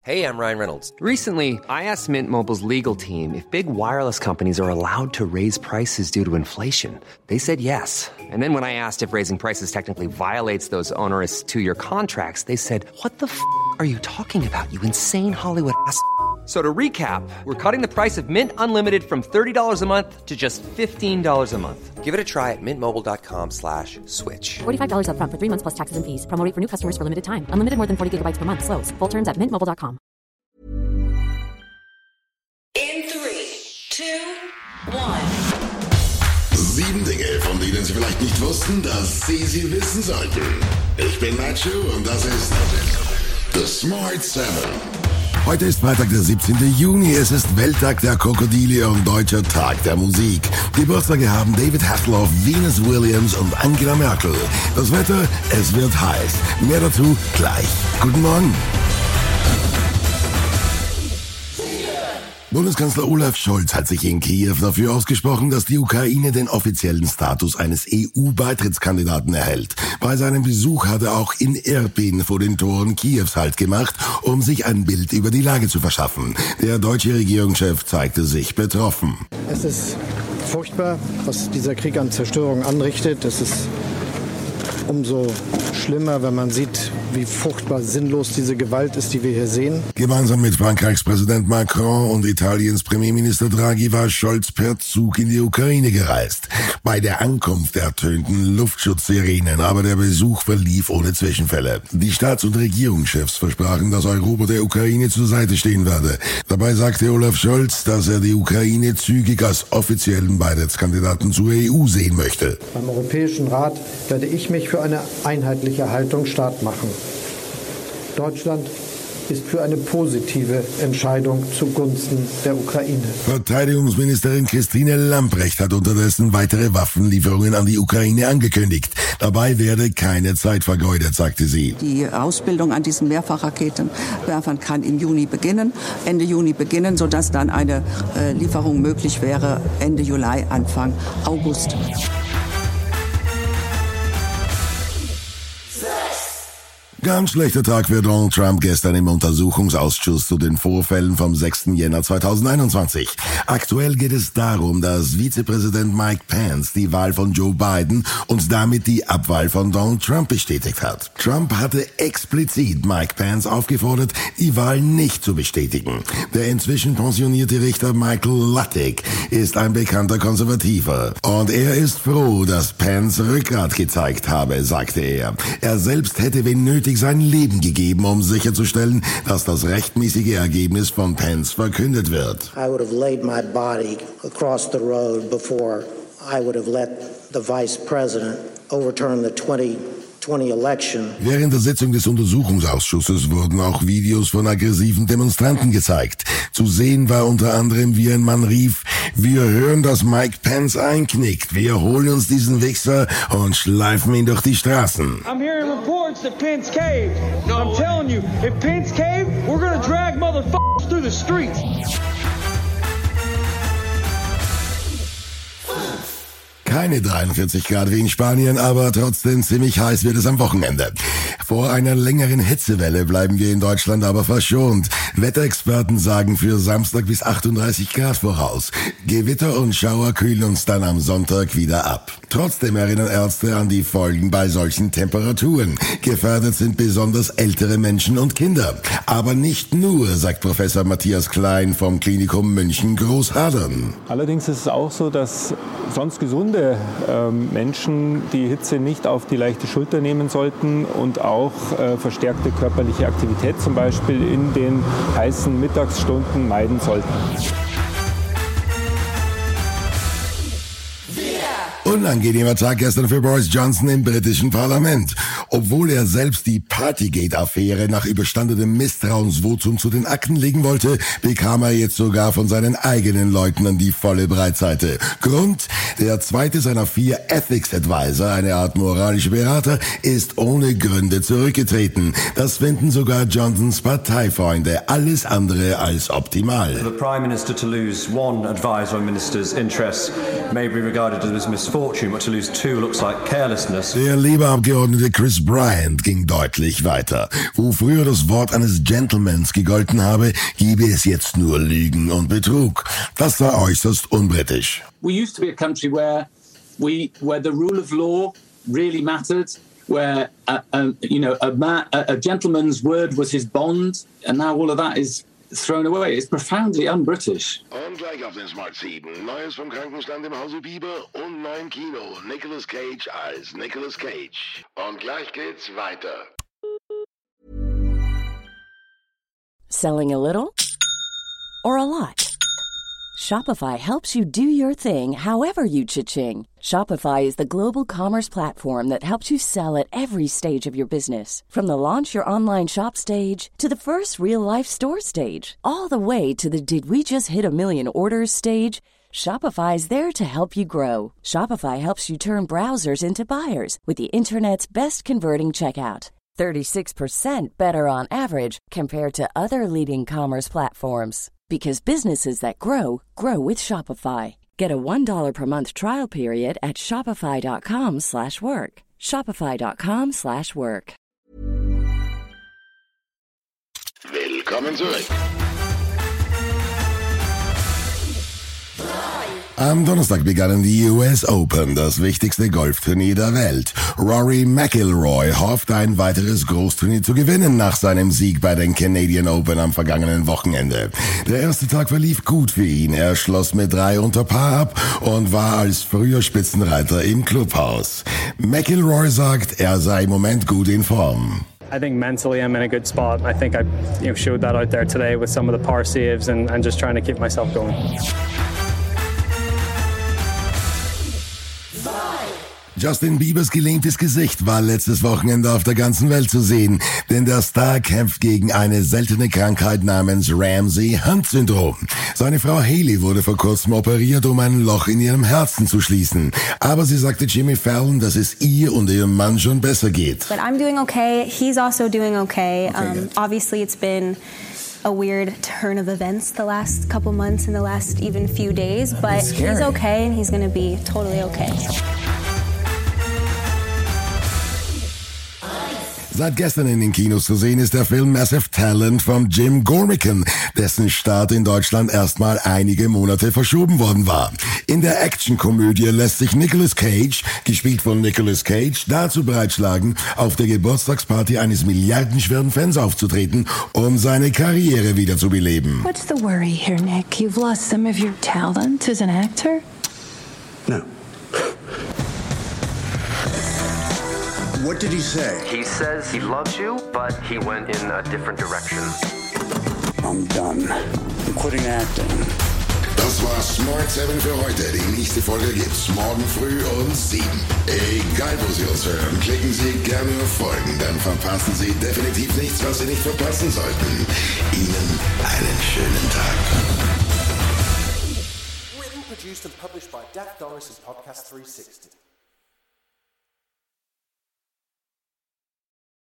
Hey, I'm Ryan Reynolds. Recently, I asked Mint Mobile's legal team if big wireless companies are allowed to raise prices due to inflation. They said yes. And then when I asked if raising prices technically violates those onerous two-year contracts, they said, "What the f*** are you talking about, you insane Hollywood ass?" So to recap, we're cutting the price of Mint Unlimited from $30 a month to just $15 a month. Give it a try at mintmobile.com/switch. $45 up front for 3 months plus taxes and fees. Promo rate for new customers for limited time. Unlimited more than 40 gigabytes per month. Slows full terms at mintmobile.com. In 3, 2, 1. 7 Dinge, von denen Sie vielleicht nicht wussten, dass Sie wissen sollten. Ich bin Nacho und das ist The Smart 7. Heute ist Freitag, der 17. Juni. Es ist Welttag der Krokodile und Deutscher Tag der Musik. Geburtstage haben David Hasselhoff, Venus Williams und Angela Merkel. Das Wetter, es wird heiß. Mehr dazu gleich. Guten Morgen. Bundeskanzler Olaf Scholz hat sich in Kiew dafür ausgesprochen, dass die Ukraine den offiziellen Status eines EU-Beitrittskandidaten erhält. Bei seinem Besuch hat er auch in Irpin vor den Toren Kiews Halt gemacht, um sich ein Bild über die Lage zu verschaffen. Der deutsche Regierungschef zeigte sich betroffen. Es ist furchtbar, was dieser Krieg an Zerstörung anrichtet. Es ist umso schlimmer, wenn man sieht, wie furchtbar sinnlos diese Gewalt ist, die wir hier sehen. Gemeinsam mit Frankreichs Präsident Macron und Italiens Premierminister Draghi war Scholz per Zug in die Ukraine gereist. Bei der Ankunft ertönten Luftschutzsirenen, aber der Besuch verlief ohne Zwischenfälle. Die Staats- und Regierungschefs versprachen, dass Europa der Ukraine zur Seite stehen werde. Dabei sagte Olaf Scholz, dass er die Ukraine zügig als offiziellen Beitrittskandidaten zur EU sehen möchte. Beim Europäischen Rat werde ich mich für eine einheitliche Haltung stark machen. Deutschland ist für eine positive Entscheidung zugunsten der Ukraine. Verteidigungsministerin Christine Lambrecht hat unterdessen weitere Waffenlieferungen an die Ukraine angekündigt. Dabei werde keine Zeit vergeudet, sagte sie. Die Ausbildung an diesen Mehrfachraketenwerfern kann im Juni beginnen, Ende Juni beginnen, sodass dann eine Lieferung möglich wäre Ende Juli, Anfang August. Ganz schlechter Tag für Donald Trump gestern im Untersuchungsausschuss zu den Vorfällen vom 6. Jänner 2021. Aktuell geht es darum, dass Vizepräsident Mike Pence die Wahl von Joe Biden und damit die Abwahl von Donald Trump bestätigt hat. Trump hatte explizit Mike Pence aufgefordert, die Wahl nicht zu bestätigen. Der inzwischen pensionierte Richter Michael Luttig ist ein bekannter Konservativer. Und er ist froh, dass Pence Rückgrat gezeigt habe, sagte er. Er selbst hätte, wenn nötig, sein Leben gegeben, um sicherzustellen, dass das rechtmäßige Ergebnis von Pence verkündet wird. I would have laid my body across the road before I would have let the vice president overturn the 2020 election. Während der Sitzung des Untersuchungsausschusses wurden auch Videos von aggressiven Demonstranten gezeigt. Zu sehen war unter anderem, wie ein Mann rief: "Wir hören, dass Mike Pence einknickt. Wir holen uns diesen Wichser und schleifen ihn durch die Straßen." I'm hearing reports that Pence caved. I'm telling you, if Pence caved, we're gonna drag motherfuckers through the streets. Keine 43 Grad wie in Spanien, aber trotzdem ziemlich heiß wird es am Wochenende. Vor einer längeren Hitzewelle bleiben wir in Deutschland aber verschont. Wetterexperten sagen für Samstag bis 38 Grad voraus. Gewitter und Schauer kühlen uns dann am Sonntag wieder ab. Trotzdem erinnern Ärzte an die Folgen bei solchen Temperaturen. Gefährdet sind besonders ältere Menschen und Kinder. Aber nicht nur, sagt Professor Matthias Klein vom Klinikum München Großhadern. Allerdings ist es auch so, dass sonst gesunde Menschen die Hitze nicht auf die leichte Schulter nehmen sollten und auch verstärkte körperliche Aktivität zum Beispiel in den heißen Mittagsstunden meiden sollten. Unangenehmer Tag gestern für Boris Johnson im britischen Parlament. Obwohl er selbst die Partygate-Affäre nach überstandenem Misstrauensvotum zu den Akten legen wollte, bekam er jetzt sogar von seinen eigenen Leuten an die volle Breitseite. Grund: der zweite seiner 4 Ethics Advisor, eine Art moralische Berater, ist ohne Gründe zurückgetreten. Das finden sogar Johnsons Parteifreunde alles andere als optimal. For the Prime Minister to lose one advisor on minister's interests may be regarded as misfortune, but to lose 2 looks like carelessness. Der Labour-Abgeordnete Chris Thomas Bryant ging deutlich weiter. Wo früher das Wort eines Gentlemans gegolten habe, gebe es jetzt nur Lügen und Betrug. Das sei äußerst unbritisch. We used to be a country where the rule of law really mattered, where a gentleman's word was his bond, and now all of that is thrown away. It's profoundly un-British. Und gleich auf den Smart 7. Neues vom Krankenstand im Hause Bieber und neuen Kino. Nicolas Cage als Nicolas Cage. Und gleich geht's weiter. Selling a little or a lot? Shopify helps you do your thing however you cha-ching. Shopify is the global commerce platform that helps you sell at every stage of your business. From the launch your online shop stage to the first real-life store stage, all the way to the did we just hit a million orders stage. Shopify is there to help you grow. Shopify helps you turn browsers into buyers with the internet's best converting checkout. 36% better on average compared to other leading commerce platforms. Because businesses that grow, grow with Shopify. Get a $1 per month trial period at shopify.com/work. Shopify.com/work. Willkommen zurück. Am Donnerstag begannen die US Open, das wichtigste Golfturnier der Welt. Rory McIlroy hofft, ein weiteres Großturnier zu gewinnen nach seinem Sieg bei den Canadian Open am vergangenen Wochenende. Der erste Tag verlief gut für ihn. Er schloss mit 3 unter Par ab und war als früher Spitzenreiter im Clubhaus. McIlroy sagt, er sei im Moment gut in Form. I think mentally I'm in a good spot. I think I showed that out there today with some of the par saves and just trying to keep myself going. Justin Biebers gelähmtes Gesicht war letztes Wochenende auf der ganzen Welt zu sehen, denn der Star kämpft gegen eine seltene Krankheit namens Ramsay-Hunt-Syndrom. Seine Frau Hailey wurde vor kurzem operiert, um ein Loch in ihrem Herzen zu schließen. Aber sie sagte Jimmy Fallon, dass es ihr und ihrem Mann schon besser geht. But I'm doing okay. He's also doing okay. Obviously it's been a weird turn of events the last couple months and the last even few days, but he's okay and he's going to be totally okay. Seit gestern in den Kinos zu sehen ist der Film Massive Talent von Jim Gormican, dessen Start in Deutschland erstmal einige Monate verschoben worden war. In der Actionkomödie lässt sich Nicolas Cage, gespielt von Nicolas Cage, dazu bereitschlagen, auf der Geburtstagsparty eines milliardenschweren Fans aufzutreten, um seine Karriere wieder zu beleben. What's the worry here, Nick? You've lost some of your talent as an actor? No. What did he say? He says he loves you, but he went in a different direction. I'm done. I'm quitting acting. Das war Smart 7 für heute. Die nächste Folge gibt's morgen früh um 7. Egal wo Sie uns hören, klicken Sie gerne auf Folgen, dann verpassen Sie definitiv nichts, was Sie nicht verpassen sollten. Ihnen einen schönen Tag. Written, produced and published by Dak Norris and Podcast 360.